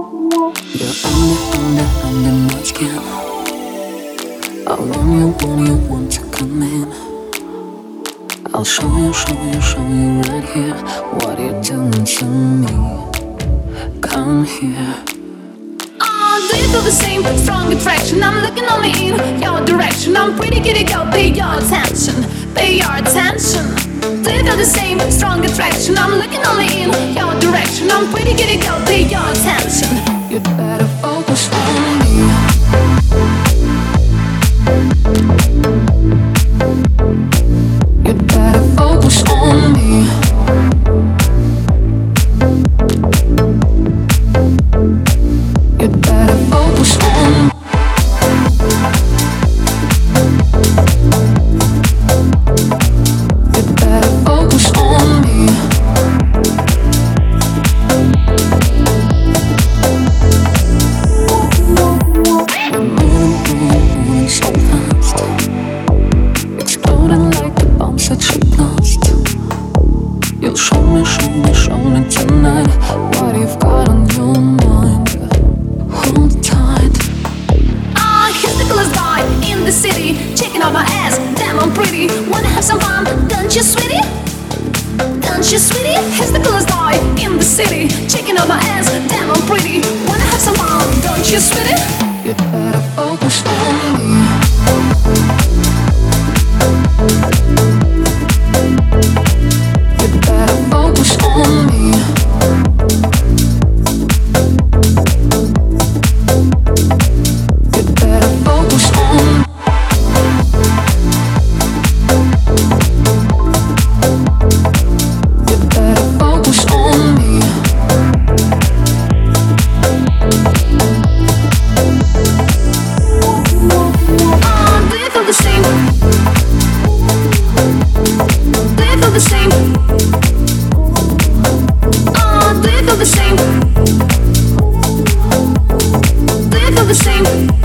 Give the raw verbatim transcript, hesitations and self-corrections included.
You're under, under, under my skin. I want you, want you, want to come in. I'll show you, show you, show you right here what you're doing to me. Come here. Oh, do you feel the same strong attraction? I'm looking only in your direction. I'm pretty giddy, go, pay your attention, pay your attention. Do you feel the same strong attraction? I'm looking only in your direction. I'm pretty giddy, go, pay your attention. You'd better focus on me. You'd better focus on me. You'd better focus on me. You'd better focus on me. We're moving, moving, moving so fast, exploding like the bombs that you blast. You'll show me, show me, show me tonight what you've got on your mind. Hold tight. Ah, here's the coolest guy in the city, checking out my ass, damn I'm pretty. Wanna have some fun, don't you, sweetie? Don't you, sweetie? Here's the coolest guy in the city, checking out my ass, damn I'm pretty. Wanna have some fun, don't you, sweetie? You'd better focus on me. You'd better focus on me. You'd better focus on me. You'd better focus on me. Ah, do you feel the same? Do you feel the same? Ah, do you feel the same? Do you feel the same?